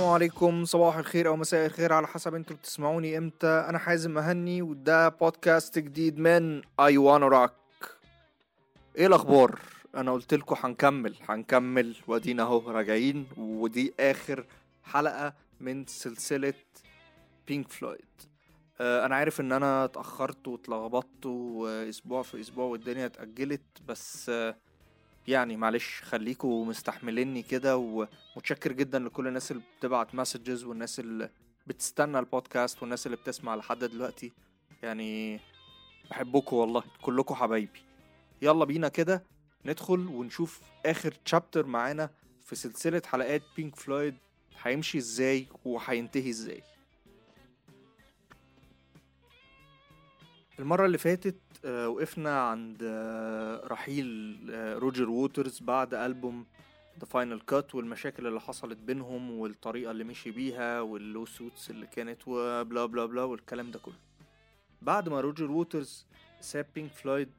عليكم، صباح الخير او مساء الخير على حسب انتوا بتسمعوني امتى. انا حازم مهني وده بودكاست جديد من I Wanna Rock. ايه الاخبار؟ انا قلت لكم هنكمل وادينا اهو راجعين، ودي اخر حلقة من سلسلة بينك فلويد. انا عارف ان انا اتأخرت واتلخبطت واسبوع في اسبوع والدنيا اتأجلت، بس يعني معلش خليكوا مستحمليني كده. ومتشكر جدا لكل الناس اللي بتبعت مسجز والناس اللي بتستنى البودكاست والناس اللي بتسمع لحد دلوقتي. يعني بحبكوا والله، كلكوا حبايبي. يلا بينا كده ندخل ونشوف اخر تشابتر معانا في سلسلة حلقات بينك فلويد هيمشي ازاي وهينتهي ازاي. المرة اللي فاتت وقفنا عند رحيل روجر ووترز بعد ألبوم The Final Cut والمشاكل اللي حصلت بينهم والطريقة اللي مشي بيها واللو سوتس اللي كانت وبلا بلا بلا والكلام ده كله. بعد ما روجر ووترز ساب بينك فلويد،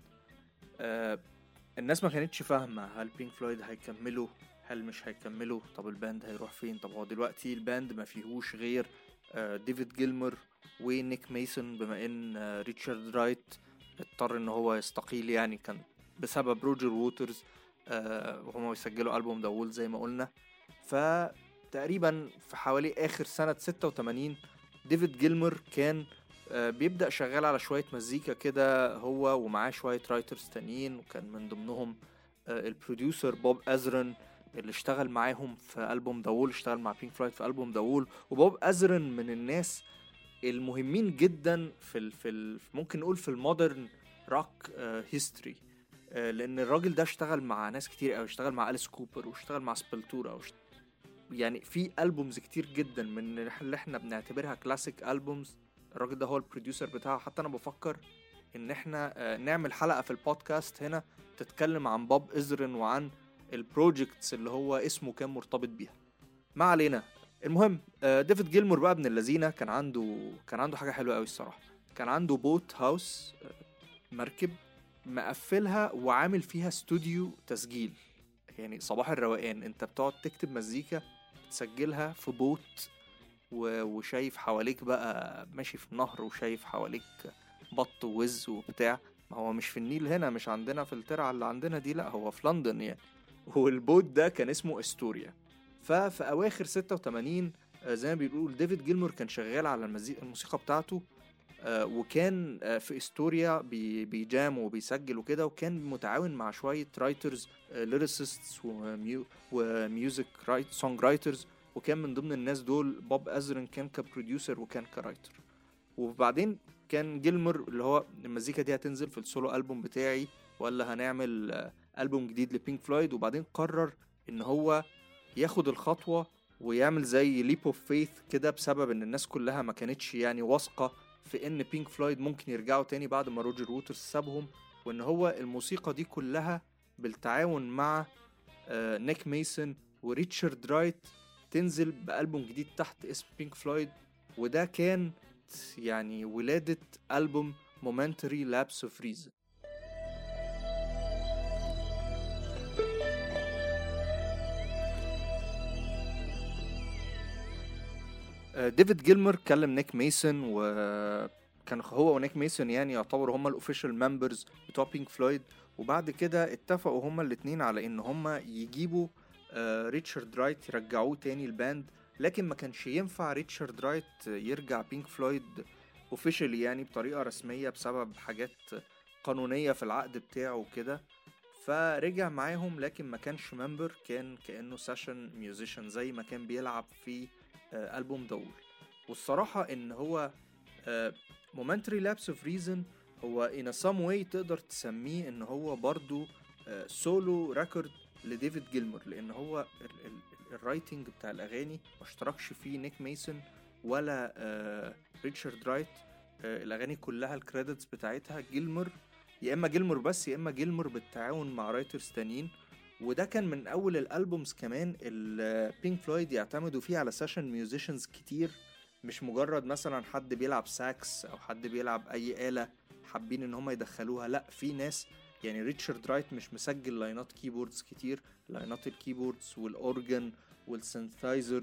الناس ما كانتش فاهمة هل بينك فلويد هيكملوا هل مش هيكملوا. طب الباند هيروح فين؟ طب هو دلوقتي الباند ما فيهوش غير ديفيد جيلمر ونيك ميسون، بما ان ريتشارد رايت اضطر ان هو يستقيل، يعني كان بسبب روجر ووترز وهم يسجلوا ألبوم داول زي ما قلنا. فتقريبا في حوالي آخر سنة 86 ديفيد جيلمر كان بيبدأ شغال على شوية مزيكا كده هو ومعاه شوية رايترز تانيين، وكان من ضمنهم البروديوسر بوب أزرن اللي اشتغل معاهم في ألبوم داول، اشتغل مع بينك فلويد في ألبوم داول. وبوب أزرن من الناس المهمين جدا في ممكن نقول في المودرن روك هيستوري، لان الراجل ده اشتغل مع ناس كتير قوي، اشتغل مع أليس كوبر واشتغل مع سبلتورا يعني في ألبومز كتير جدا من اللي احنا بنعتبرها كلاسيك ألبومز الراجل ده هو البروديوسر بتاعه. حتى انا بفكر ان احنا نعمل حلقة في البودكاست هنا تتكلم عن بوب إزرن وعن البروجيكتس اللي هو اسمه كان مرتبط بيها. ما علينا. المهم ديفيد جيلمور بقى ابن اللذينه كان عنده حاجه حلوه قوي الصراحه. كان عنده بوت هاوس، مركب مقفلها وعامل فيها استوديو تسجيل. يعني صباح الروقان، انت بتقعد تكتب مزيكا تسجلها في بوت وشايف حواليك بقى ماشي في نهر وشايف حواليك بط ووز وبتاع. ما هو مش في النيل هنا، مش عندنا في الترعه اللي عندنا دي، لا هو في لندن يعني. والبوت ده كان اسمه استوريا. ففي اواخر 86 زي ما بيقول ديفيد جيلمور كان شغال على الموسيقى بتاعته، وكان في استوريا بيجام وبيسجل وكده، وكان متعاون مع شوية رايترز ليريسيستس وميوزك سونج رايترز، وكان من ضمن الناس دول بوب أزرن كان كبروديوسر وكان كرايتر. وبعدين كان جيلمور اللي هو المزيكا دي هتنزل في السولو ألبوم بتاعي ولا هنعمل ألبوم جديد لبينك فلويد. وبعدين قرر ان هو ياخد الخطوة ويعمل زي ليب اوف فيث كده، بسبب ان الناس كلها ما كانتش يعني واثقة في ان بينك فلويد ممكن يرجعوا تاني بعد ما روجر ووترز سابهم، وان هو الموسيقى دي كلها بالتعاون مع نيك ميسون وريتشارد رايت تنزل بألبوم جديد تحت اسم بينك فلويد. وده كان يعني ولادة ألبوم مومنتري لابس اوف ريزن. ديفيد جيلمر كلم نيك ميسون، وكان هو ونيك ميسون يعني يعتبروا هما الاوفيشال ممبرز بتوع بينك فلويد. وبعد كده اتفقوا هما الاتنين على ان هما يجيبوا ريتشارد رايت يرجعوه تاني الباند، لكن ما كانش ينفع ريتشارد رايت يرجع بينك فلويد اوفيشالي يعني بطريقة رسمية بسبب حاجات قانونية في العقد بتاعه وكده. فرجع معاهم لكن ما كانش ممبر، كان كأنه سيشن ميوزيشن زي ما كان بيلعب في ألبوم داول. والصراحة ان هو momentary lapse of reason هو in a some way تقدر تسميه ان هو برضو سولو ريكورد لديفيد جيلمور، لان هو الرايتنج بتاع الاغاني ما اشتركش فيه نيك ميسون ولا ريتشارد رايت. الاغاني كلها الكريدتس بتاعتها جيلمور، يا اما جيلمور بس يا اما جيلمور بالتعاون مع رايترز تانيين. وده كان من اول الالبومز كمان اللي بينك فلويد يعتمدوا فيه على سيشن ميوزيشنز كتير، مش مجرد مثلا حد بيلعب ساكس او حد بيلعب اي آلة حابين ان هم يدخلوها، لا في ناس يعني ريتشارد رايت مش مسجل لاينات كيبوردز كتير، لاينات الكيبوردز والاورجن والسينثايزرز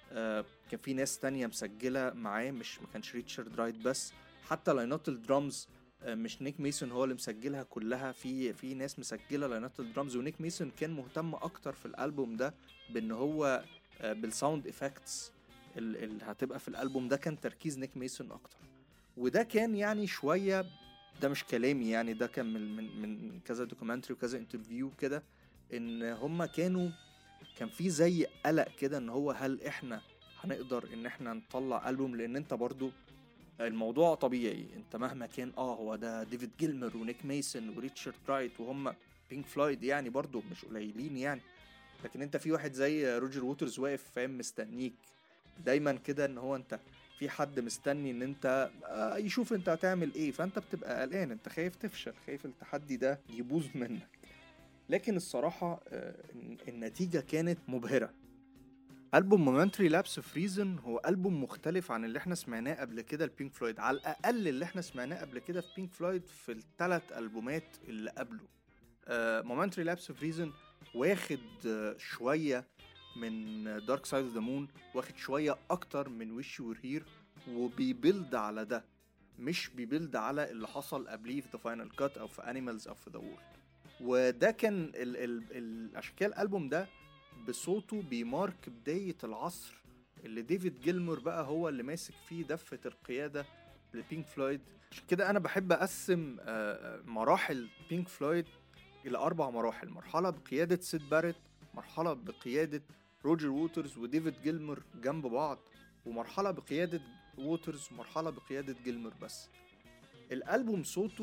كان في ناس تانية مسجلة معاه، مش ما كانش ريتشارد رايت بس. حتى لاينات الدرامز مش نيك ميسون هو اللي مسجلها كلها، في ناس مسجلة لاينات الدرامز، ونيك ميسون كان مهتم اكتر في الالبوم ده بان هو بالساوند افكتس اللي هتبقى في الالبوم ده. كان تركيز نيك ميسون اكتر، وده كان يعني شوية، ده مش كلامي يعني، ده كان من كذا دوكيومنتري وكذا انترفيو كده، ان هما كان في زي قلق كده ان هو هل احنا هنقدر ان احنا نطلع ألبوم. لان انت برضو الموضوع طبيعي، انت مهما كان هو ده ديفيد جيلمر ونيك ميسون وريتشارد رايت وهم بينك فلويد يعني برضو مش قليلين يعني، لكن انت في واحد زي روجر ووترز واقف فاهم مستنيك دايما كده، ان هو انت في حد مستني ان انت يشوف انت هتعمل ايه، فانت بتبقى قلقان، انت خايف تفشل، خايف التحدي ده يبوظ منك. لكن الصراحة النتيجة كانت مبهرة. ألبوم مومنتري لابس اوف ريزن هو ألبوم مختلف عن اللي احنا سمعناه قبل كده لبينك فلويد، على الأقل اللي احنا سمعناه قبل كده في بينك فلويد في الثلاث ألبومات اللي قبله. مومنتري لابس اوف ريزن واخد شوية من دارك سايد اوف ذا مون، واخد شوية أكتر من ويش يو ور هير، وبيبيلد على ده، مش بيبيلد على اللي حصل قبليه في ذا فاينل كات أو في أنيمالز أو في ذا وول. وده كان الاشكال الالبوم ده بصوته بيمارك بداية العصر اللي ديفيد جيلمور بقى هو اللي ماسك فيه دفة القيادة لبينك فلويد. عشان كده انا بحب اقسم مراحل بينك فلويد الى 4 مراحل: مرحلة بقيادة سيد باريت، مرحلة بقيادة روجر ووترز وديفيد جيلمور جنب بعض، ومرحلة بقيادة ووترز ومرحلة بقيادة جيلمور بس. الالبوم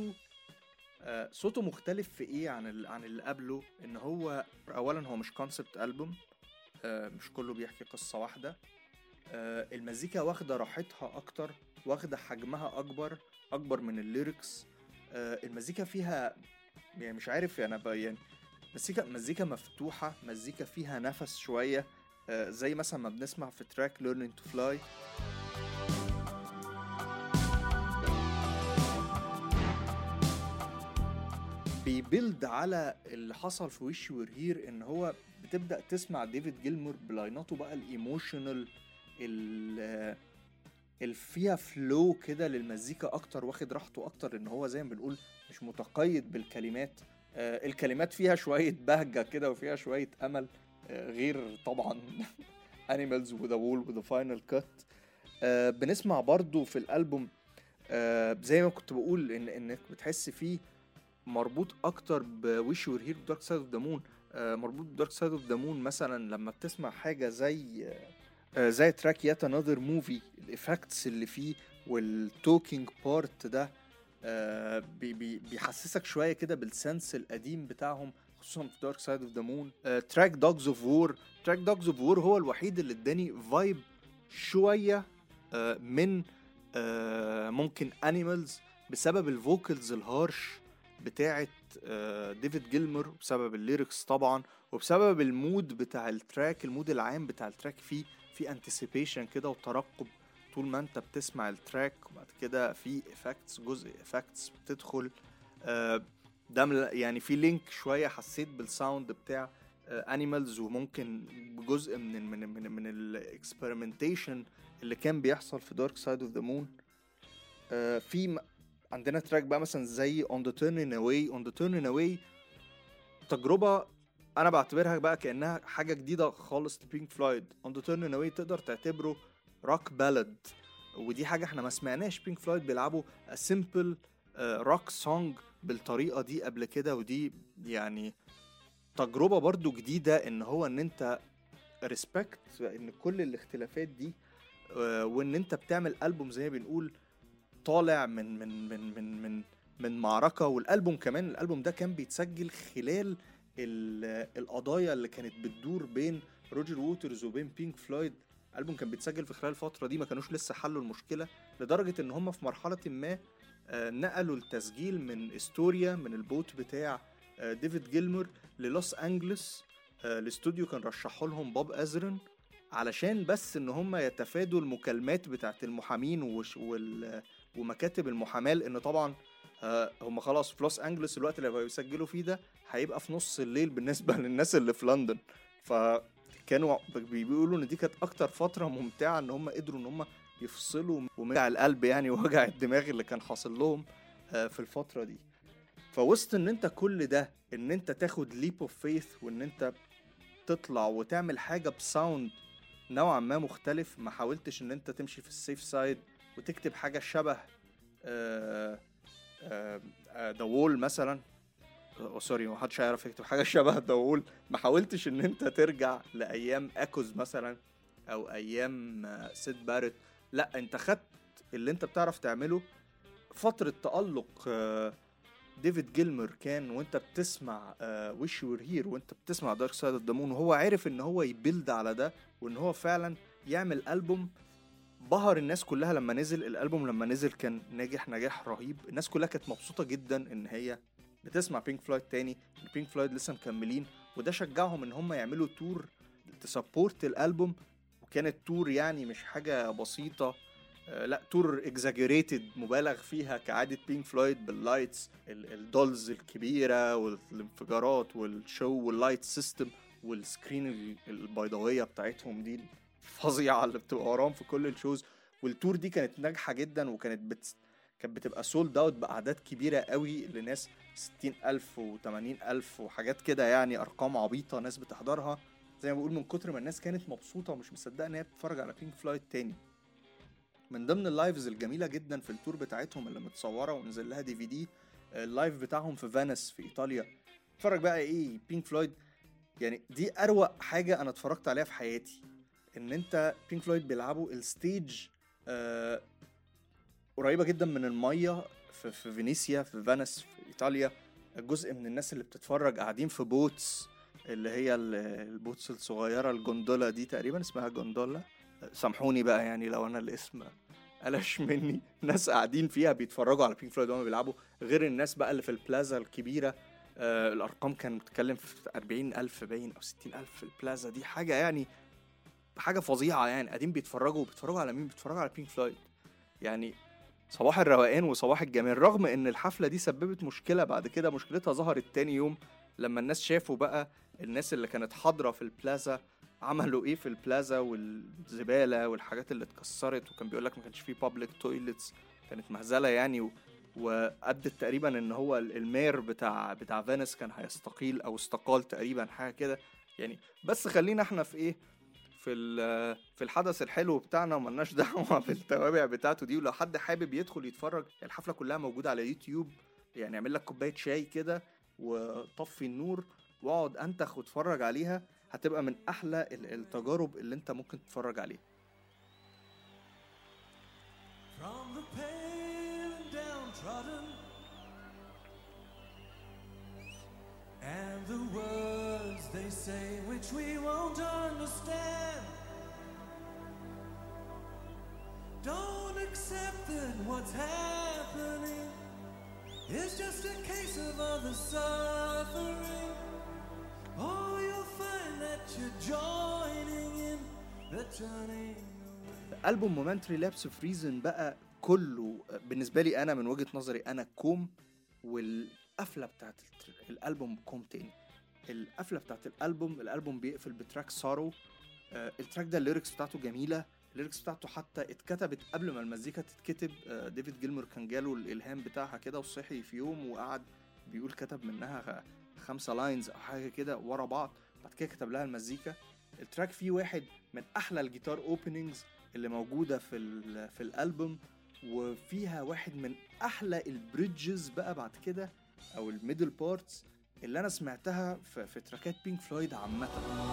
صوته مختلف في ايه عن اللي قبله، ان هو اولا هو مش كونسبت ألبوم، مش كله بيحكي قصة واحدة. المزيكا واخدة راحتها اكتر، واخدة حجمها اكبر من الليركس. المزيكا فيها يعني مش عارف يعني مزيكا مفتوحة، مزيكا فيها نفس شوية، زي مثلا ما بنسمع في تراك Learning to Fly. بيبيلد على اللي حصل في ويش يو ور هير، ان هو بتبدأ تسمع ديفيد جيلمور بلايناته بقى الايموشنال اللي فيها فلو كده للمزيكا اكتر، واخد راحته اكتر، ان هو زي ما بنقول مش متقيد بالكلمات. الكلمات فيها شوية بهجة كده وفيها شوية امل، غير طبعا Animals وذا وول وذا فاينل كات. بنسمع برضو في الالبوم زي ما كنت بقول انك بتحس فيه مربوط اكتر بويش يور هير دارك سايد اوف ذا مون. مربوط بدارك سايد اوف ذا مون مثلا لما بتسمع حاجه زي تراك يات انذر موفي، الافكتس اللي فيه والتوكينج بارت ده بيحسسك شويه كده بالسنس القديم بتاعهم، خصوصا في دارك سايد اوف ذا مون. تراك دوجز اوف وور هو الوحيد اللي اداني فايب شويه من ممكن انيمالز، بسبب الفوكلز الهارش بتاعت ديفيد جيلمور، وبسبب الليركس طبعا، وبسبب المود بتاع التراك، المود العام بتاع التراك في انتسيبيشن كده وترقب طول ما انت بتسمع التراك. وبعد كده في افكتس، جزء افكتس بتدخل، ده يعني في لينك شويه حسيت بالساوند بتاع انيمالز، وممكن بجزء من الاكسبيرمنتيشن اللي كان بيحصل في دارك سايد اوف ذا مون. في عندنا تراك بقى مثلا زي On the Turning Away تجربة أنا بعتبرها بقى كأنها حاجة جديدة خالص لبينك فلويد. On the Turning Away تقدر تعتبره روك بالاد، ودي حاجة احنا ما سمعناش بينك فلويد بيلعبوا simple روك سونج بالطريقة دي قبل كده، ودي يعني تجربة برضو جديدة، ان هو ان انت respect ان كل الاختلافات دي، وان انت بتعمل ألبوم زي ما بنقول طالع من معركة. والألبوم كمان، الألبوم ده كان بيتسجل خلال القضايا اللي كانت بتدور بين روجر ووترز وبين بينك فلويد. الألبوم كان بيتسجل في خلال الفترة دي، ما كانوش لسه حلوا المشكلة، لدرجة ان هم في مرحلة ما نقلوا التسجيل من استوريا، من البوت بتاع ديفيد جيلمور، للوس أنجلس. الاستوديو كان رشحوا لهم بوب أزرن علشان بس ان هم يتفادوا المكالمات بتاعت المحامين ومكاتب المحاماة، لان طبعا هم خلاص في لوس أنجلس الوقت اللي هيسجلوا فيه ده هيبقى في نص الليل بالنسبة للناس اللي في لندن، كانوا بيقولوا ان دي كانت اكتر فترة ممتعة، ان هم قدروا ان هم يفصلوا ومنع القلب يعني ووجع الدماغ اللي كان حاصل لهم في الفترة دي. فوسط ان انت كل ده، ان انت تاخد ليب اوف فيث وان انت تطلع وتعمل حاجة بساوند نوعا ما مختلف، ما حاولتش ان انت تمشي في السيف سايد وتكتب حاجة شبه ذا وول مثلا. سوري، ما حدش هيعرف يكتب حاجة شبه ذا وول. ما حاولتش ان انت ترجع لايام اكوز مثلا او ايام سيد بارت. لا، انت خدت اللي انت بتعرف تعمله. فترة تألق ديفيد جيلمر كان وانت بتسمع ويش يور هير وانت بتسمع دارك سايد اوف ذا مون، وهو عارف ان هو يبيلد على ده وان هو فعلا يعمل ألبوم بهر الناس كلها. لما نزل الألبوم، لما نزل كان ناجح نجاح رهيب. الناس كلها كانت مبسوطة جدا ان هي بتسمع بينك فلويد تاني، بينك فلويد لسه مكملين، وده شجعهم ان هم يعملوا تور تسابورت الألبوم. وكانت تور يعني مش حاجة بسيطة، لا، تور اكزاجريتد مبالغ فيها كعادة بينك فلويد، باللايتس الدولز الكبيرة والانفجارات والشو واللايت سيستم والسكرين البيضاوية بتاعتهم دي الفظيعة اللي بتبقى وراهم في كل الشوز. والتور دي كانت ناجحة جدا، وكانت كانت بتبقى سولد اوت بأعداد كبيرة قوي لناس 60,000 و80,000 وحاجات كده، يعني أرقام عبيطة ناس بتحضرها. زي ما بقول، من كتر ما الناس كانت مبسوطة ومش مصدقة ان هي بتتفرج على بينك فلويد تاني. من ضمن اللايفز الجميلة جدا في التور بتاعتهم اللي متصورة ونزل لها DVD، اللايف بتاعهم في فينيس في إيطاليا. اتفرج بقى ايه بينك فلويد، يعني دي أروق حاجة أنا اتفرجت عليها في حياتي. ان انت بينك فلويد بيلعبوا الستيج قريبة جدا من المية في فينيسيا في فينيس في إيطاليا. جزء من الناس اللي بتتفرج قاعدين في بوتس، اللي هي البوتس الصغيرة، الجندولا دي تقريبا اسمها جندولا، سامحوني بقى يعني لو انا الاسم قلش مني. ناس قاعدين فيها بيتفرجوا على بينك فلويد وهم بيلعبوا، غير الناس بقى اللي في البلازا الكبيرة. الارقام كانت بتتكلم في 40,000 باين او 60,000 في البلازا دي، حاجة يعني حاجة فظيعة. يعني قاعدين بيتفرجوا على مين؟ بيتفرجوا على بينك فلويد. يعني صباح الروقان وصباح الجمال. رغم ان الحفلة دي سببت مشكلة بعد كده، مشكلتها ظهرت تاني يوم لما الناس شافوا بقى الناس اللي كانت حاضرة في البلازا عملوا ايه في البلازا، والزبالة والحاجات اللي اتكسرت. وكان بيقولك ما كانش فيه public toilets، كانت مهزلة يعني. وأدت تقريبا ان هو المير بتاع فينيس كان هيستقيل او استقال تقريبا، حاجة كده يعني. بس خلينا احنا في ايه، في الحدث الحلو بتاعنا، وملناش دعوه بالتوابع بتاعته دي. ولو حد حابب يدخل يتفرج، الحفله كلها موجوده على يوتيوب. يعني اعمل لك كوبايه شاي كده وطفي النور واقعد انتخ واتفرج عليها، هتبقى من احلى التجارب اللي انت ممكن تتفرج عليها. From the pale and downtrodden and the words they say which we won't understand, don't accept that what's happening is just a case of other suffering. Oh, you'll find that you're joining in the turning away. ألبوم مومنتري لابس اوف ريزن بقى كله بالنسبة لي أنا من وجهة نظري أنا كوم، والقفلة بتاعت الألبوم كوم تاني. القفلة بتاعت الألبوم بيقفل بتراك سارو. التراك ده الليركس بتاعته جميلة، الليركس بتاعته حتى اتكتبت قبل ما المزيكا تتكتب. ديفيد جيلمر كان جاله الإلهام بتاعها كده وصحي في يوم وقعد بيقول كتب منها 5 لاينز أو حاجة كده ورا بعض، بعد كده كتب لها المزيكا. التراك فيه واحد من أحلى الجيتار اوبننجز اللي موجودة في الألبوم، وفيها واحد من أحلى البريدجز بقى بعد كده أو الميدل بارتس اللي أنا سمعتها في تراكات بينك فلويد عامة.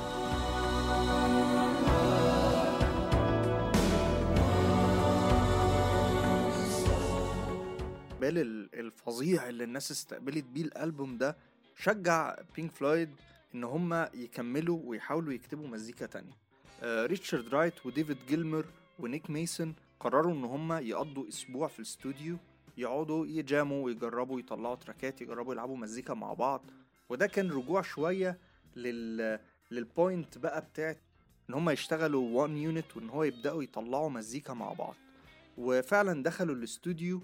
الفظيع اللي الناس استقبلت بيه الألبوم ده شجع بينك فلويد إن هما يكملوا ويحاولوا يكتبوا مزيكا تانية. ريتشارد رايت وديفيد جيلمر ونيك ميسون قرروا إن هما يقضوا أسبوع في الاستوديو، يقعدوا يجاموا ويجربوا يطلعوا تراكات، يجربوا يلعبوا مزيكا مع بعض. وده كان رجوع شوية للبوينت بقى بتاعت إن هما يشتغلوا one unit وإن هو يبدأوا يطلعوا مزيكا مع بعض. وفعلا دخلوا الاستوديو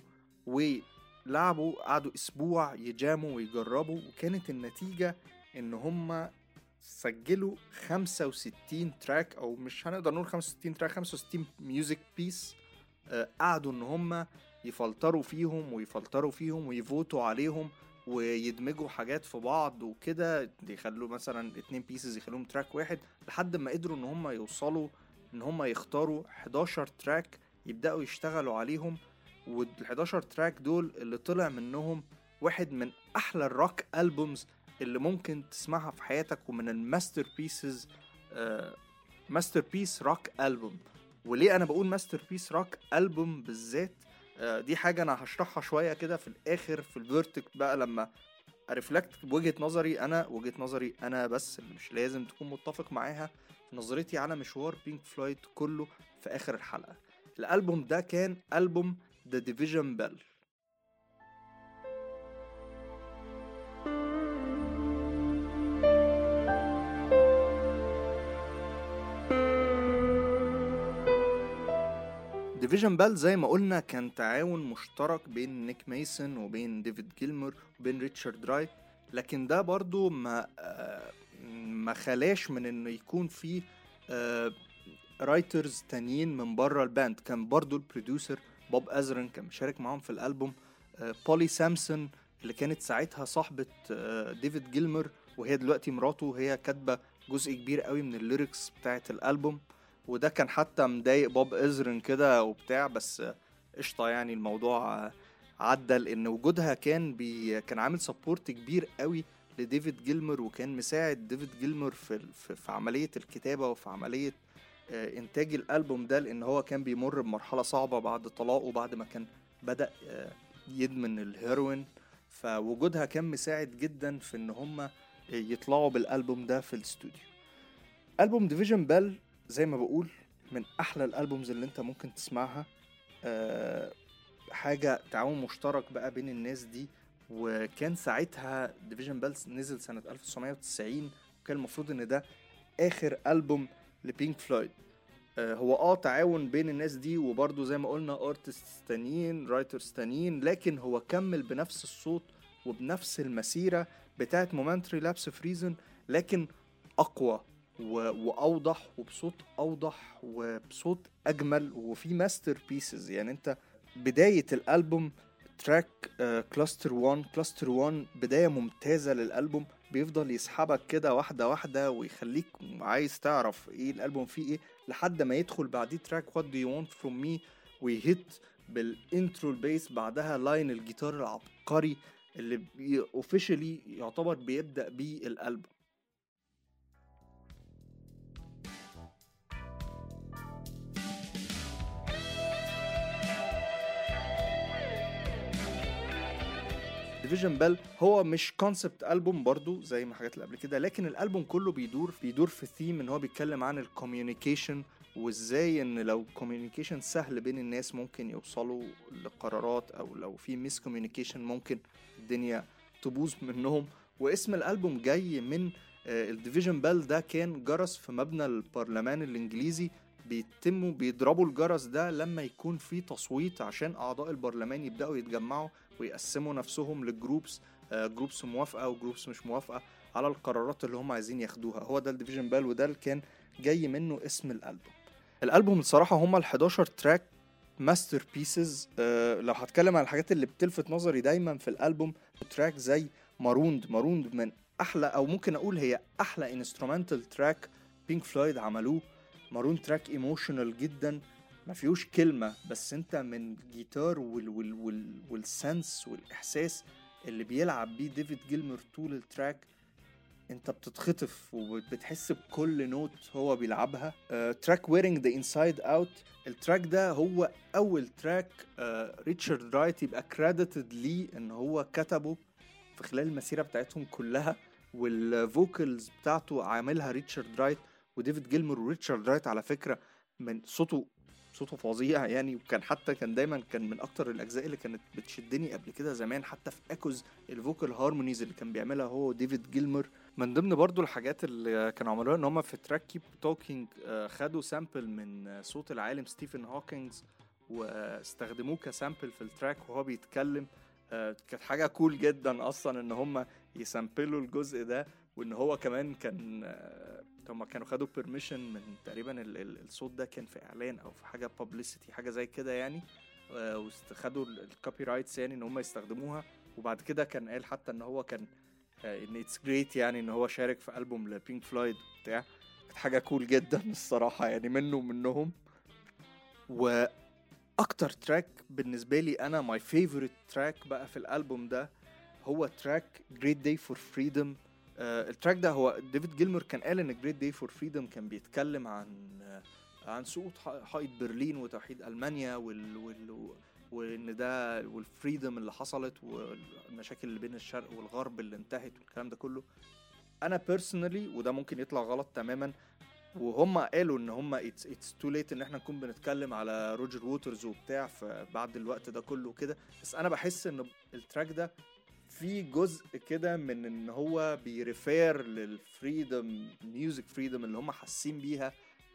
ولعبوا، قعدوا اسبوع يجاموا ويجربوا، وكانت النتيجة ان هم سجلوا 65 تراك، او مش هنقدر نقول 65 تراك، 65 ميوزك بيس. قعدوا ان هم يفلتروا فيهم ويفوتوا عليهم ويدمجوا حاجات في بعض وكده، يخلوا مثلا 2 بيسز يخلوهم تراك واحد، لحد ما قدروا ان هم يوصلوا ان هم يختاروا 11 تراك يبدأوا يشتغلوا عليهم. وال11 تراك دول اللي طلع منهم واحد من احلى الروك ألبومز اللي ممكن تسمعها في حياتك، ومن الماستر بيسز، ماستر بيس روك ألبوم. وليه انا بقول ماستر بيس روك ألبوم بالذات؟ دي حاجة انا هشرحها شوية كده في الاخر في الفيرتيك بقى، لما ارفلكت بوجهة نظري انا بس، اللي مش لازم تكون متفق معاها، نظرتي على مشوار بينك فلويد كله في اخر الحلقة. الالبوم ده كان البوم The Division Bell. ديفيجن بال زي ما قلنا كان تعاون مشترك بين نيك ميسون وبين ديفيد جيلمور وبين ريتشارد رايت، لكن ده برضو ما خلاش من انه يكون فيه رايترز تانيين من بره الباند. كان برضو البروديوسر بوب ازرن كان مشارك معهم في الالبوم، بولي سامسون اللي كانت ساعتها صاحبة ديفيد جيلمور وهي دلوقتي مراته، هي كاتبة جزء كبير قوي من الليركس بتاعت الالبوم، وده كان حتى مضايق بوب ازرن كده وبتاع، بس قشطة يعني الموضوع عدى، لان وجودها كان عامل سبورت كبير قوي لديفيد جيلمور، وكان مساعد ديفيد جيلمور في عملية الكتابة وفي عملية انتاج الالبوم ده، لان هو كان بيمر بمرحلة صعبة بعد طلاقه، بعد ما كان بدأ يدمن الهيروين. فوجودها كان مساعد جدا في ان هم يطلعوا بالالبوم ده في الاستوديو. البوم ديفيجن بال زي ما بقول من احلى الالبومز اللي انت ممكن تسمعها، حاجة تعاون مشترك بقى بين الناس دي. وكان ساعتها ديفيجن بال نزل سنة 1990، وكان المفروض ان ده اخر البوم لبينك فلويد. هو تعاون بين الناس دي، وبرضو زي ما قلنا ارتستس تانيين، رايترز تانيين، لكن هو كمل بنفس الصوت وبنفس المسيرة بتاعت مومنتري لابس اوف ريزن، لكن اقوى واوضح وبصوت اوضح وبصوت اجمل وفي ماستر بيسز. يعني انت بداية الالبوم تراك كلاستر 1 بداية ممتازة للالبوم، بيفضل يسحبك كده واحدة واحدة ويخليك عايز تعرف ايه الالبوم فيه ايه، لحد ما يدخل بعديه تراك What Do You Want From Me ويهت بالانترو البيس، بعدها لاين الجيتار العبقري اللي اوفيشلي يعتبر بيبدأ بيه الالبوم. ديفيجن بال هو مش كونسبت ألبوم برضو زي ما حاجات اللي قبل كده، لكن الألبوم كله بيدور في ثيم ان هو بيتكلم عن الكوميونيكيشن، وازاي ان لو كوميونيكيشن سهل بين الناس ممكن يوصلوا لقرارات، او لو في ميس كوميونيكيشن ممكن الدنيا تبوظ منهم. واسم الألبوم جاي من الديفيجن بال ده كان جرس في مبنى البرلمان الإنجليزي، بيضربوا الجرس ده لما يكون في تصويت عشان أعضاء البرلمان يبدأوا يتجمعوا ويقسموا نفسهم للجروبس، جروبس موافقة وجروبس مش موافقة على القرارات اللي هم عايزين ياخدوها. هو ده الديفيجن بال، وده اللي كان جاي منه اسم الألبوم الصراحة هم ال11 تراك ماستر بيسز. لو هتكلم عن الحاجات اللي بتلفت نظري دايما في الألبوم، تراك زي ماروند من أحلى، أو ممكن أقول هي أحلى انسترومنتال تراك بينك فلويد عملوه. مارون تراك ايموشنال جدا، ما فيهوش كلمة، بس انت من جيتار والسنس والإحساس اللي بيلعب بيه ديفيد جيلمور طول التراك، انت بتتخطف وبتحس بكل نوت هو بيلعبها. تراك Wearing the Inside Out، التراك ده هو أول تراك ريتشارد رايت يبقى كريديتد ليه ان هو كتبه في خلال المسيرة بتاعتهم كلها، والفوكالز بتاعته عاملها ريتشارد رايت وديفيد جيلمور. وريتشارد رايت على فكرة من صوته فظيع يعني، وكان حتى دايما من اكتر الاجزاء اللي كانت بتشدني قبل كده زمان، حتى في اكوز الفوكال هارمونيز اللي كان بيعملها هو وديفيد جيلمور. من ضمن برضو الحاجات اللي كانوا عملوها ان هم في تراك كيب توكينج خدوا سامبل من صوت العالم ستيفن هوكينجز واستخدموه كسامبل في التراك وهو بيتكلم. كانت حاجة كول جدا اصلا ان هم يسامبلوا الجزء ده وان هو كمان كان هما كانوا خدوا بيرميشن من تقريبا الصوت ده كان في اعلان او في حاجه بابليستي حاجه زي كده يعني، واستخدوا الكوبي رايتس يعني ان هم يستخدموها. وبعد كده كان قال حتى ان هو كان ان اتس جريت يعني ان هو شارك في ألبوم لبينك فلويد بتاع. كانت حاجه كول جدا الصراحه يعني منه ومنهم. واكتر تراك بالنسبه لي انا ماي فيفورت تراك بقى في الألبوم ده هو تراك Great Day for Freedom. التراك ده هو ديفيد جيلمور كان قال ان Great Day for Freedom كان بيتكلم عن سقوط حائط برلين وتوحيد ألمانيا وان ده والفريدم اللي حصلت والمشاكل اللي بين الشرق والغرب اللي انتهت والكلام ده كله. انا بيرسونالي وده ممكن يطلع غلط تماما، وهم قالوا ان هم it's too late ان احنا نكون بنتكلم على روجر ووترز وبتاع بعد الوقت ده كله كده، بس انا بحس ان التراك ده في جزء كده من ان هو بيريفير للفريدم ميوزك فريدم اللي هم حاسين بيها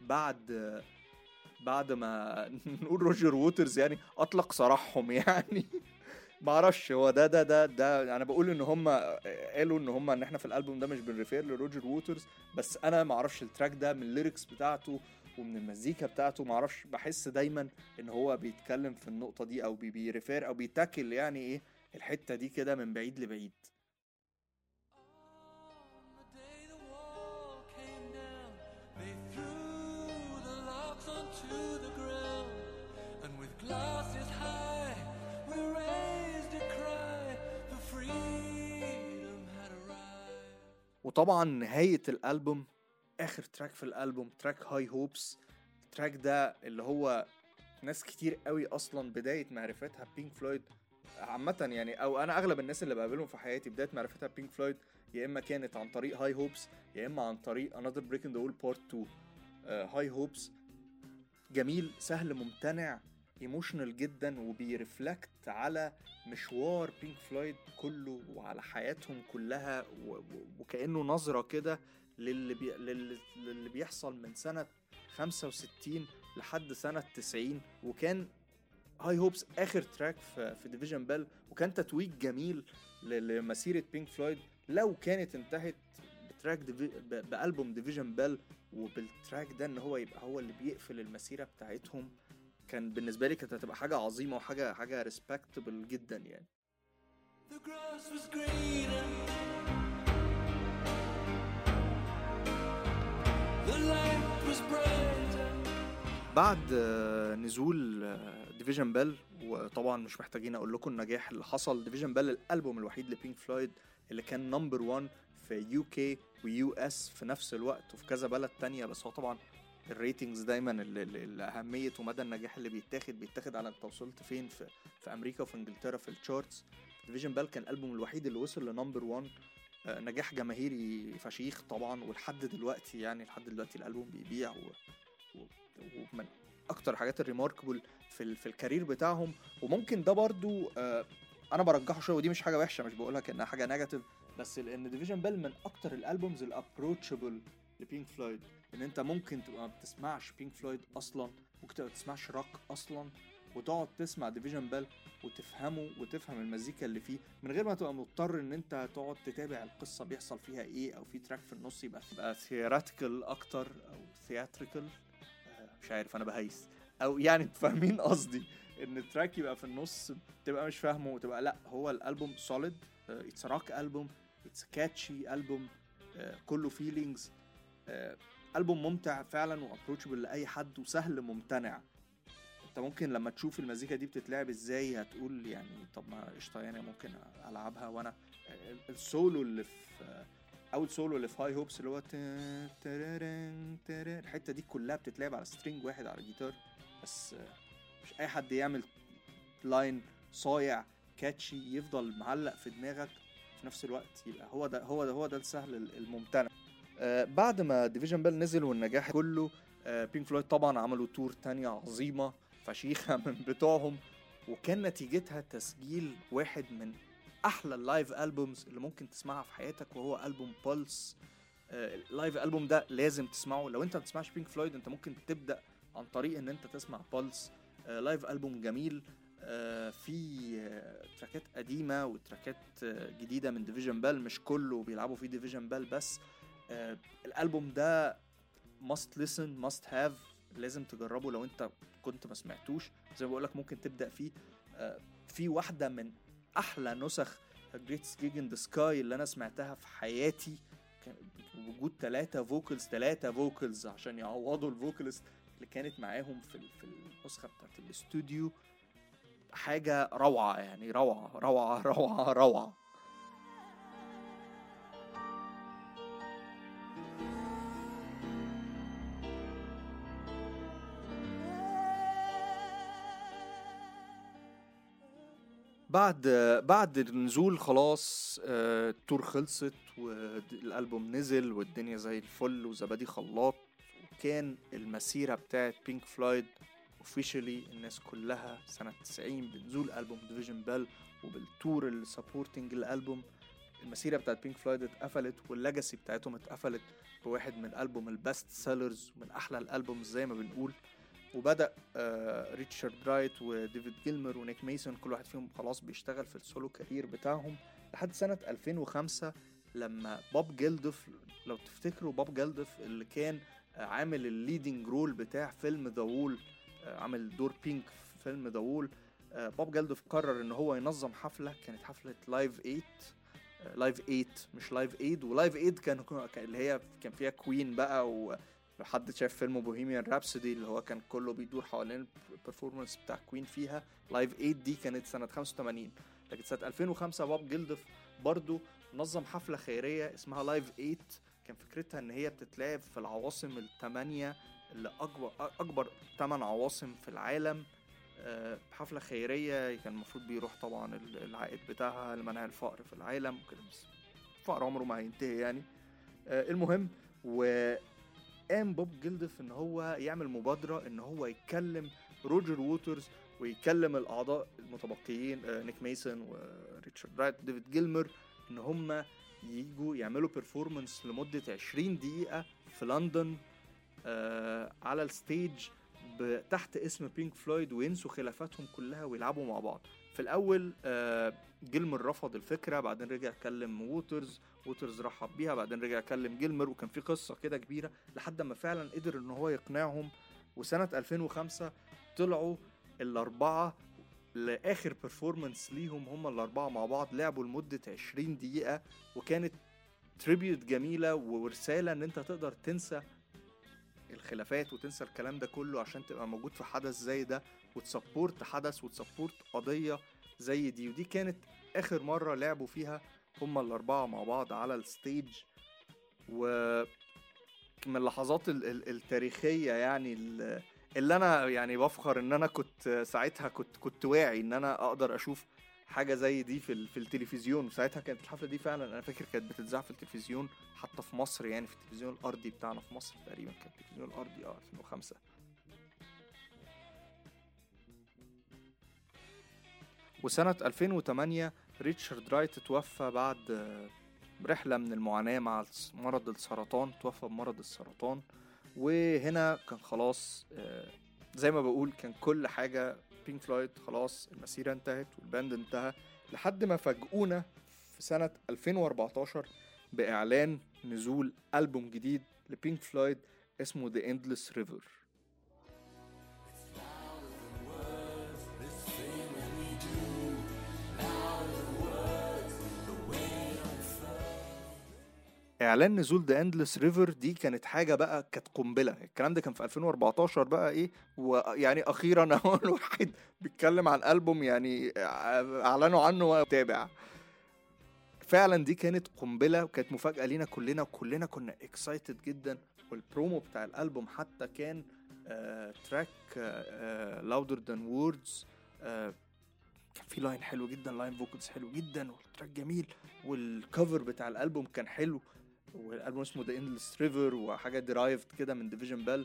بعد ما نقول روجر ووترز يعني اطلق سراحهم يعني. معرفش هو ده انا بقول ان هم قالوا ان هم ان احنا في الالبوم ده مش بنريفير لروجر ووترز، بس انا معرفش التراك ده من الليركس بتاعته ومن المزيكا بتاعته معرفش بحس دايما ان هو بيتكلم في النقطة دي او بيريفير او بيتاكل يعني ايه الحتة دي كده من بعيد لبعيد. وطبعا نهاية الألبوم آخر تراك في الألبوم تراك هاي هوبس. التراك ده اللي هو ناس كتير قوي أصلا بداية معرفتها بينك فلويد عامة يعني، أو أنا أغلب الناس اللي بقابلهم في حياتي بداية معرفتها بينك فلويد يا إما كانت عن طريق هاي هوبس يا إما عن طريق Another Brick in the Wall Part 2. هاي هوبس جميل سهل ممتنع ايموشنال جدا وبيرفلكت على مشوار بينك فلويد كله وعلى حياتهم كلها وكأنه نظرة كده للي بيحصل من سنة 65 لحد سنة 90. وكان هاي هوبس آخر تراك في ديفيجن بيل، وكان تتويج جميل لمسيرة بينك فلويد لو كانت انتهت بتراك بألبوم ديفيجن بيل وبالتراك ده ان هو يبقى هو اللي بيقفل المسيرة بتاعتهم. كان بالنسبة لي كانت هتبقى حاجة عظيمة وحاجة respectable جدا يعني. The grass was greener. The light was brighter. بعد نزول ديفيجن بيل، وطبعا مش محتاجين اقول لكم النجاح اللي حصل. ديفيجن بيل الالبوم الوحيد لبينك فلويد اللي كان نمبر 1 في يو كي ويو اس في نفس الوقت وفي كذا بلد تانية. بس هو طبعا الريتنجز دايما الاهميه ومدى النجاح اللي بيتاخد على انت وصلت فين في امريكا وفي انجلترا في الشارتس. ديفيجن بيل كان الالبوم الوحيد اللي وصل لنمبر 1. نجاح جماهيري فشيخ طبعا، ولحد دلوقتي يعني لحد دلوقتي الالبوم بيبيع ومن اكتر حاجات الريماركبل في الكارير بتاعهم. وممكن ده برضو انا برجحه شويه، ودي مش حاجه وحشه مش بقولها كانها حاجه نيجاتيف، بس لان ديفيجن بيل من اكتر الالبومز الابروتشبل لبينك فلويد. ان انت ممكن تبقى ما بتسمعش بينك فلويد اصلا، ممكن تبقى ما بتسمعش روك اصلا وتقعد تسمع ديفيجن بيل وتفهمه وتفهم المزيكا اللي فيه من غير ما تبقى مضطر ان انت تقعد تتابع القصه بيحصل فيها ايه، او في تراك في النص يبقى ثياتريكال اكتر او ثياتريكال مش عارف انا بهيس او يعني فاهمين قصدي ان التراك يبقى في النص تبقى مش فاهمه وتبقى لا. هو الالبوم سوليد، اتس روك البوم، اتس كاتشي البوم، كله فيلينجز، البوم ممتع فعلا وابروتشبل لاي حد وسهل ممتنع. انت ممكن لما تشوف المزيكا دي بتتلعب ازاي هتقول يعني طب ما قشطه يعني ممكن العبها. وانا السولو اللي في اول سولو اللي في هاي هوبس اللي هو الحته دي كلها بتتلعب على سترينج واحد على الجيتار، بس مش اي حد يعمل لاين صايع كاتشي يفضل معلق في دماغك في نفس الوقت. يبقى هو ده السهل الممتنع. بعد ما ديفيجن بيل نزل والنجاح كله، بينك فلويد طبعا عملوا تور تانية عظيمة فشيخة من بتوعهم، وكان نتيجتها تسجيل واحد من احلى اللايف ألبومز اللي ممكن تسمعها في حياتك، وهو ألبوم بولس. اللايف ألبوم ده لازم تسمعه. لو انت ما بتسمعش بينك فلويد انت ممكن تبدأ عن طريق ان انت تسمع بولس. لايف ألبوم جميل، في تراكات قديمة وتراكات جديدة من ديفيجن بال، مش كله بيلعبوا فيه ديفيجن بال بس. الألبوم ده must listen must have، لازم تجربه لو انت كنت ما سمعتوش. زي ما بقولك ممكن تبدأ فيه. في واحدة من أحلى نسخ Greatest Gig in the Sky اللي أنا سمعتها في حياتي، وجود 3 فوكلز عشان يعوضوا الفوكالست اللي كانت معاهم في النسخة بتاعت الاستوديو. حاجة روعة يعني، روعة روعة روعة روعة. بعد النزول خلاص، التور خلصت والألبوم نزل والدنيا زي الفل وزبادي خلاط، وكان المسيرة بتاعت بينك فلويد اوفيشالي الناس كلها سنة 90 بنزول ألبوم ديفيجن بال وبالتور السابورتنج الألبوم. المسيرة بتاعت بينك فلويد اتقفلت والليجاسي بتاعتهم اتقفلت بواحد من ألبوم البست سيلرز ومن أحلى الألبوم زي ما بنقول. وبدأ ريتشارد رايت وديفيد جيلمر ونيك ميسون كل واحد فيهم خلاص بيشتغل في السولو كارير بتاعهم لحد سنة 2005 لما بوب جيلدوف، لو تفتكروا بوب جيلدوف اللي كان عامل الليدنج رول بتاع فيلم ذا وول، عامل دور بينك في فيلم ذا وول. بوب جيلدوف قرر ان هو ينظم حفلة، كانت حفلة لايف 8 مش لايف ايد. ولايف ايد كان اللي هي كان فيها كوين بقى، لو حد شاف فيلم بوهيميان رابسودي اللي هو كان كله بيدور حوالين البرفورمانس بتاع كوين فيها. لايف 8 دي كانت سنة 85. لكن سنة 2005 بوب جيلدوف برضو نظم حفلة خيرية اسمها لايف 8. كان فكرتها ان هي بتتلعب في العواصم الثمانية اللي اكبر 8 عواصم في العالم. حفلة خيرية كان المفروض بيروح طبعا العائد بتاعها لمنع الفقر في العالم وكده، بس الفقر عمره ما هينتهي يعني. المهم، قام بوب جيلدوف ان هو يعمل مبادرة ان هو يتكلم روجر ووترز ويكلم الاعضاء المتبقيين نيك ميسون وريتشارد رايت وديفيد جيلمر ان هم ييجوا يعملوا بيرفورمانس لمدة 20 دقيقة في لندن على الستيج تحت اسم بينك فلويد، وينسوا خلافاتهم كلها ويلعبوا مع بعض. في الاول جيلمر رفض الفكرة، بعدين رجع كلم ووترز رحب بيها، بعدين رجع كلم جيلمر، وكان في قصة كده كبيرة لحد ما فعلا قدر ان هو يقنعهم. وسنة 2005 طلعوا الاربعة لاخر بيرفورمانس ليهم، هم الاربعة مع بعض لعبوا لمدة 20 دقيقة، وكانت تريبيوت جميلة ورسالة ان انت تقدر تنسى الخلافات وتنسى الكلام ده كله عشان تبقى موجود في حدث زي ده وتسبورت حدث وتسبورت قضية زي دي. ودي كانت آخر مرة لعبوا فيها هما الأربعة مع بعض على الستيج، ومن اللحظات التاريخية يعني اللي أنا يعني بفخر إن أنا كنت ساعتها كنت واعي إن أنا أقدر أشوف حاجة زي دي في التلفزيون. ساعتها كانت الحفلة دي فعلا أنا فاكر كانت بتتذاع في التلفزيون حتى في مصر، يعني في التلفزيون الأرضي بتاعنا في مصر تقريبا، كان التلفزيون الأرضي 2005. وسنة 2008 ريتشارد رايت توفى بعد رحلة من المعاناة مع مرض السرطان، توفى بمرض السرطان. وهنا كان خلاص زي ما بقول كان كل حاجة بينك فلويد خلاص المسيرة انتهت والباند انتهى، لحد ما فاجئونا في سنة 2014 بإعلان نزول ألبوم جديد لبينك فلويد اسمه The Endless River. اعلان نزول The Endless River دي كانت حاجة بقى، كانت قنبلة. الكلام ده كان في 2014 بقى ايه، ويعني اخيرا اهو الواحد بيتكلم عن ألبوم يعني اعلنوا عنه وتابع. فعلا دي كانت قنبلة وكانت مفاجأة لينا كلنا، وكلنا كنا اكسايتد جدا. والبرومو بتاع الألبوم حتى كان تراك Louder Than Words، كان في لاين حلو جدا، لاين فوكلز حلو جدا والتراك جميل، والكفر بتاع الألبوم كان حلو، والألبوم اسمه The Endless River وحاجة درايفد كده من ديفيجن بال.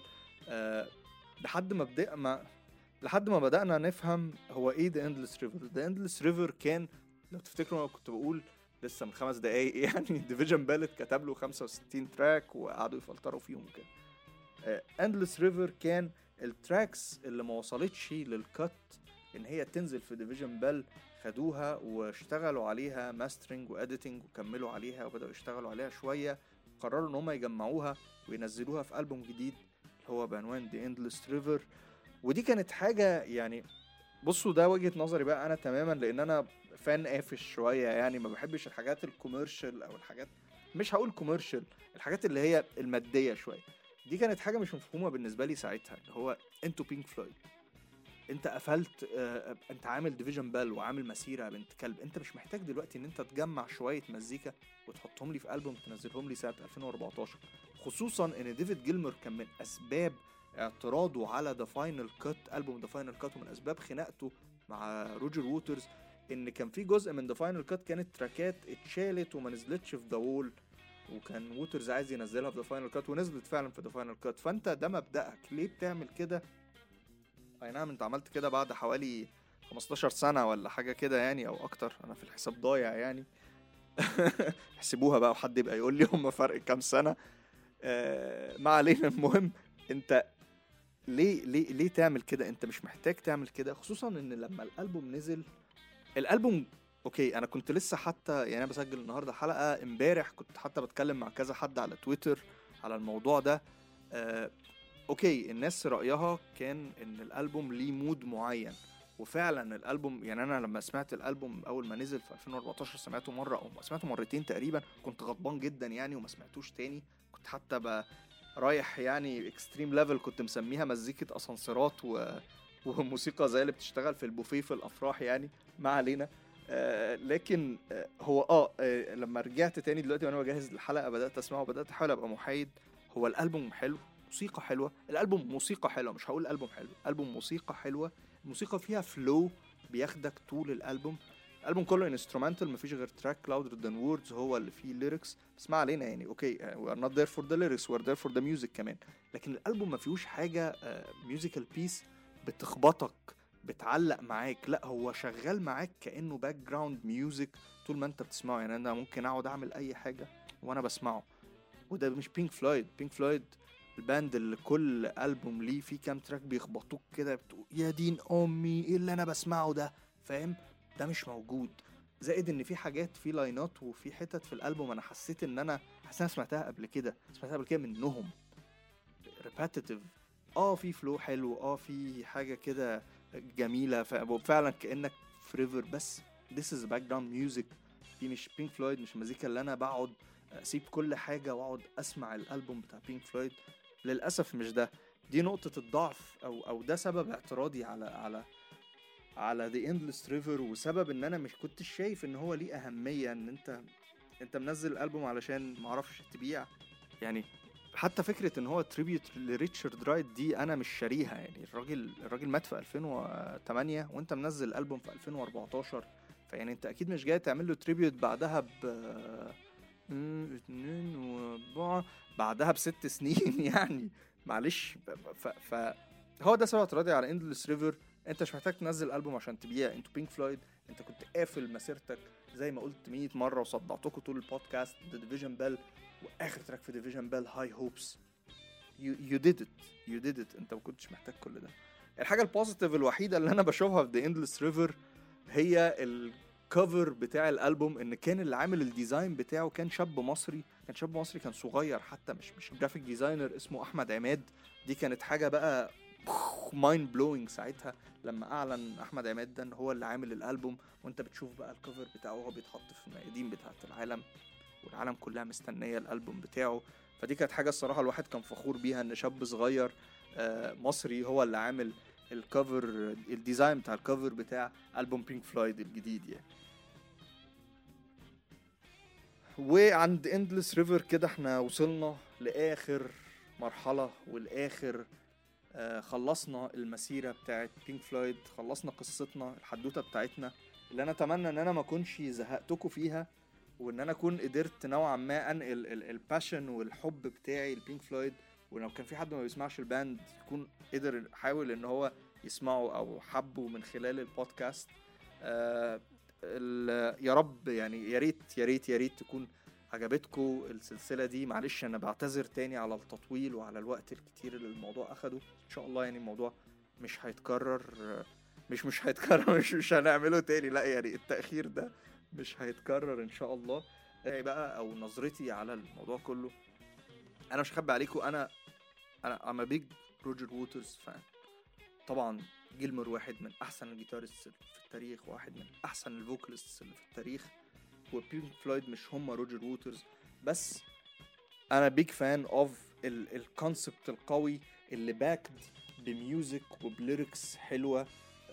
لحد ما بدأنا نفهم هو ايه The Endless River. The Endless River كان، لو تفتكروا انا كنت بقول لسه من 5 دقايق يعني ديفيجن بال كتب له 65 تراك وقعدوا يفلتروا فيهم كده. Endless River كان التراكس اللي ما وصلتش للكت ان هي تنزل في ديفيجن بيل خدوها واشتغلوا عليها ماسترنج واديتنج وكملوا عليها وبدأوا يشتغلوا عليها شوية، قرروا ان هم يجمعوها وينزلوها في ألبوم جديد اللي هو بعنوان The Endless River. ودي كانت حاجة يعني بصوا ده وجهة نظري بقى انا تماما، لان انا فان قافش شوية يعني، ما بحبش الحاجات الكوميرشال او الحاجات، مش هقول كوميرشال، الحاجات اللي هي المادية شوية. دي كانت حاجة مش مفهومة بالنسبة لي ساعتها، اللي هو انتوا بينك فلويد، انت قفلت انت عامل ديفيجن بال وعامل مسيرة بنت كلب، انت مش محتاج دلوقتي ان انت تجمع شوية مزيكا وتحطهم لي في ألبوم تنزلهم لي سنة 2014. خصوصا ان ديفيد جيلمر كان من اسباب اعتراضه على ذا فاينل كات، ألبوم ذا فاينل كات، ومن اسباب خناقته مع روجر ووترز ان كان في جزء من ذا فاينل كات كانت تراكات اتشالت وما نزلتش في ذا وول، وكان ووترز عايز ينزلها في ذا فاينل كات ونزلت فعلا في ذا فاينل كات. فانت ده مبدأك، ليه بتعمل كده؟ اي نعم انت عملت كده بعد حوالي 15 سنة ولا حاجة كده يعني او اكتر، انا في الحساب ضايع يعني. احسبوها بقى وحد يبقى يقول لي هم فرق كام سنة. ما علينا. المهم انت ليه تعمل كده؟ انت مش محتاج تعمل كده، خصوصا ان لما الالبوم نزل، الالبوم اوكي، انا كنت لسه حتى يعني انا بسجل النهارده حلقة، امبارح كنت حتى بتكلم مع كذا حد على تويتر على الموضوع ده. اوكي الناس رأيها كان ان الالبوم ليه مود معين، وفعلا الالبوم يعني انا لما سمعت الالبوم اول ما نزل في 2014 سمعته مرة او سمعته مرتين تقريبا، كنت غضبان جدا يعني وما سمعتوش تاني. كنت حتى رايح يعني اكستريم ليفل، كنت مسميها مزيكة اسانسيرات وموسيقى زي اللي بتشتغل في البوفيه في الافراح يعني. ما علينا. لكن هو لما رجعت تاني دلوقتي وانا بجهز الحلقة بدأت اسمعه وبدأت احاول ابقى محايد. هو الالبوم حلو، موسيقى حلوة، الألبوم موسيقى حلوة، مش هقول ألبوم حلو، ألبوم موسيقى حلوة، الموسيقى فيها فلو بياخدك طول الألبوم. الألبوم كله انسترومنتال، مفيش غير تراك louder than words هو اللي فيه lyrics، بس ما علينا يعني اوكي we are not there for the lyrics we are there for the music كمان. لكن الألبوم ما فيهوش حاجة musical piece بتخبطك بتعلق معاك، لا هو شغال معاك كأنه باك جراوند ميوزك طول ما انت بتسمعه. يعني انا ممكن اقعد اعمل اي حاجة وانا بسمعه. وده مش بينك فلويد. بينك فلويد الباند اللي كل ألبوم ليه فيه كام تراك بيخبطوك كده بتقول يا دين أمي إيه اللي أنا بسمعه ده، فاهم؟ ده مش موجود. زائد إن في حاجات في لاينات وفي حتت في الألبوم أنا حسيت إن أنا سمعتها قبل كده منهم repetitive. في فلو حلو، في حاجة كده جميلة فعلا كأنك في ريفر، بس this is background music. دي مش بينك فلويد، مش المزيكا اللي أنا بقعد أسيب كل حاجة وأقعد أسمع الألبوم بتاع بينك فلويد. للأسف مش ده، دي نقطة الضعف أو ده سبب اعتراضي على The Endless River، وسبب إن أنا مش كنت شايف إن هو ليه أهمية. إن أنت منزل الألبوم علشان معرفش تبيع يعني. حتى فكرة إن هو تريبيوت لريتشارد رايت دي أنا مش شاريها يعني. الراجل مات في 2008 وأنت منزل الألبوم في 2014، فيعني أنت أكيد مش جاي تعمل له تريبيوت بعدها 2 و4 بعدها ب6 سنين يعني معلش. هو ده سبب اعتراضي على اندلس ريفر. انت مش محتاج تنزل ألبوم عشان تبيع، انتوا بينك فلويد، انت كنت قافل مسيرتك زي ما قلت 100 مرة وصدعتكم طول البودكاست The Division Bell، واخر تراك في Division Bell High Hopes. you did it. انت ما كنتش محتاج كل ده. الحاجة البوزيتيف الوحيدة اللي انا بشوفها في The Endless River هي الكفر بتاع الالبوم، ان كان اللي عامل الديزاين بتاعه كان شاب مصري، كان صغير حتى، مش جرافيك ديزاينر، اسمه احمد عماد. دي كانت حاجة بقى مايند بلوينج ساعتها لما اعلن احمد عماد ده ان هو اللي عامل الالبوم. وانت بتشوف بقى الكفر بتاعه وهو بيتحط في الميادين بتاعه العالم، والعالم كلها مستنية الالبوم بتاعه. فدي كانت حاجة الصراحة الواحد كان فخور بيها، ان شاب صغير مصري هو اللي عامل الكفر، الديزاين بتاع الكفر بتاع ألبوم بينك فلويد الجديد يعني. وعند Endless River كده احنا وصلنا لآخر مرحلة والآخر خلصنا المسيرة بتاعت بينك فلويد، خلصنا قصتنا الحدوتة بتاعتنا اللي انا اتمنى ان انا ما كنش زهقتكم فيها، وان انا اكون قدرت نوعا ما انقل الباشن والحب بتاعي لبينك فلويد. ولو كان في حد ما بيسمعش الباند يكون قدر حاول ان هو يسمعه او حبه من خلال البودكاست. يا رب يعني، يا ريت تكون عجبتكم السلسلة دي. معلش انا بعتذر تاني على التطويل وعلى الوقت الكتير اللي الموضوع اخده. ان شاء الله يعني الموضوع مش هيتكرر مش هيتكرر، مش هنعمله تاني، لا يعني التأخير ده مش هيتكرر ان شاء الله. بقى او نظرتي على الموضوع كله، انا مش هخبي عليكم، انا I'm a big روجر ووترز فان. طبعا جيلمور واحد من احسن الجيتاريست في التاريخ، واحد من احسن الفوكاليست اللي في التاريخ، وبينك فلويد مش هم روجر ووترز بس. انا بيج فان اوف الكونسبت القوي اللي باكد بميوزك وبليركس حلوه.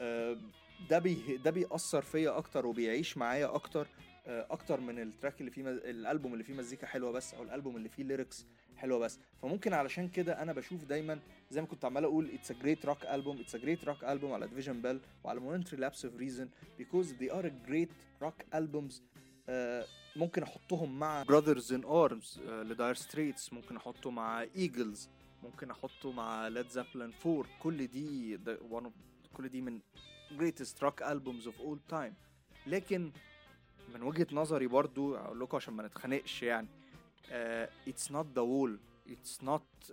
ده بيأثر فيا اكتر وبيعيش معايا اكتر من التراك اللي فيه الالبوم اللي فيه مزيكا حلوه بس، او الالبوم اللي فيه ليركس حلوه بس. فممكن علشان كده انا بشوف دايما زي ما كنت عمال اقول it's a great rock album على Division Bell وعلى Momentary Lapse of Reason because they are a great rock albums. ممكن احطهم مع Brothers in Arms لداير ستريتس، ممكن احطه مع Eagles، ممكن احطه مع Led Zeppelin 4. كل دي من greatest rock albums of all time. لكن من وجهة نظري برضو اقول لكم عشان ما نتخانقش يعني، it's not the wall, it's not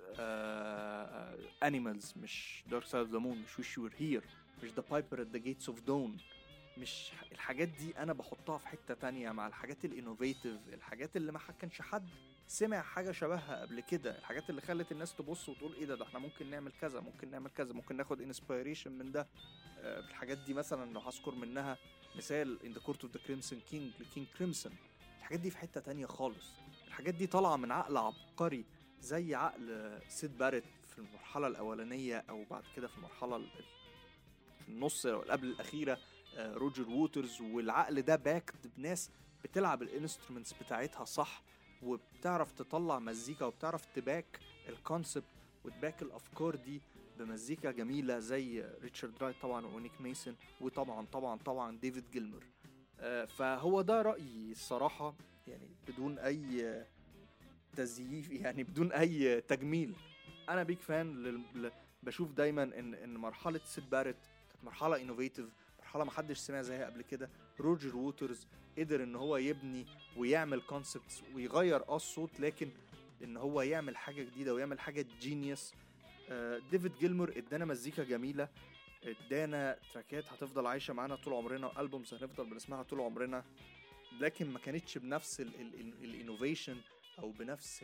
animals، مش Dark Side of the Moon، مش Wish You Were Here، مش The Piper at the Gates of Dawn. مش الحاجات دي انا بحطها في حتة تانية مع الحاجات الانوفيتيف، الحاجات اللي ما كانش حد سمع حاجة شبهها قبل كده، الحاجات اللي خلت الناس تبص وتقول ايه ده احنا ممكن نعمل كذا، ممكن ناخد انسبيريشن من ده. الحاجات دي مثلا لو هذكر منها مثال In the Court of the Crimson King لكينج كريمسون، الحاجات دي في حتة تانية خالص. الحاجات دي طالعة من عقل عبقري زي عقل سيد باريت في المرحلة الأولانية، أو بعد كده في المرحلة في النص أو قبل الأخيرة روجر ووترز. والعقل ده باكد بناس بتلعب الانسترومنتس بتاعتها صح، وبتعرف تطلع مزيكا، وبتعرف تباك الكونسبت وتباك الأفكار دي بمزيكا جميلة زي ريتشارد رايت طبعا ونيك ميسون، وطبعا طبعا طبعا ديفيد جيلمور. فهو ده رأيي الصراحة، يعني بدون أي تزييف، يعني بدون أي تجميل. أنا بيك فان بشوف دايما إن مرحلة سيد باريت كانت مرحلة انوفيتيف، مرحلة محدش سمع زيها قبل كده. روجر ووترز قدر إن هو يبني ويعمل كونسبتس ويغير الصوت، لكن إن هو يعمل حاجة جديدة ويعمل حاجة جينيوس. ديفيد جيلمور ادانا مزيكا جميلة، ادانا تراكات هتفضل عايشة معانا طول عمرنا، ألبومز هنفضل بنسمعها طول عمرنا، لكن ما كانتش بنفس الانوفيشن او بنفس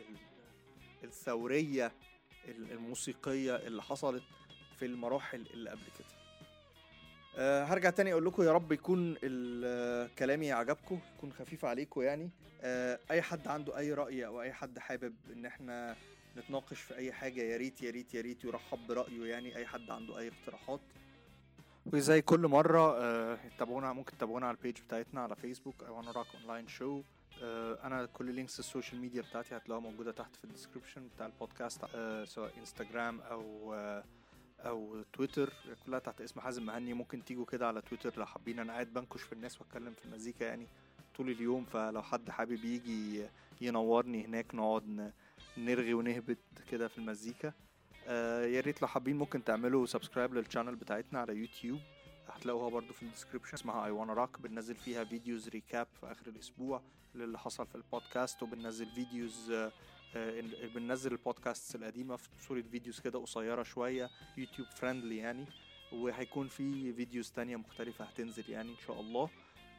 الثورية الموسيقية اللي حصلت في المراحل اللي قبل كده. هرجع تاني اقول لكم يا رب يكون كلامي عجبكم، يكون خفيف عليكم يعني. اي حد عنده اي رأي او اي حد حابب ان احنا نتناقش في اي حاجة، يا ريت يا ريت يا ريت يرحب برأيه يعني. اي حد عنده اي اقتراحات، وزي كل مرة تابعونا، ممكن تابعونا على البيج بتاعتنا على فيسبوك I Wanna Rock Online Show. انا كل لينكس السوشيال ميديا بتاعتي هتلاقوها موجودة تحت في الديسكريبشن بتاع البودكاست، سواء انستجرام او تويتر، كلها تحت اسم حازم مهني. ممكن تيجوا كده على تويتر لو حابين، انا قاعد بنكش في الناس واتكلم في المزيكا يعني طول اليوم، فلو حد حابب يجي ينورني هناك نقعد نرغي ونهبط كده في المزيكا. يا ريت لو حابين ممكن تعملوا سبسكرايب للشانل بتاعتنا على يوتيوب، هتلاقوها برضو في الديسكريبشن، اسمها I Wanna Rock. بننزل فيها فيديوز ريكاب في اخر الاسبوع للي حصل في البودكاست، وبننزل فيديوز بننزل البودكاست القديمة في صورة فيديوز كده قصيرة شوية، يوتيوب فريندلي يعني. وهيكون في فيديوز تانية مختلفة هتنزل يعني ان شاء الله.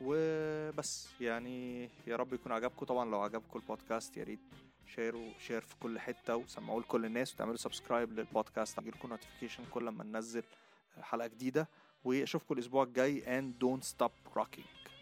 وبس يعني يا رب يكون عجبكم. طبعا لو عجبكم البودكاست يا ريت شير في كل حتة وسمعوه لكل الناس، وتعملوا سبسكرايب للبودكاست يجيلكم نوتيفيكيشن كل ما ننزل حلقة جديدة. واشوفكم الاسبوع الجاي and don't stop rocking.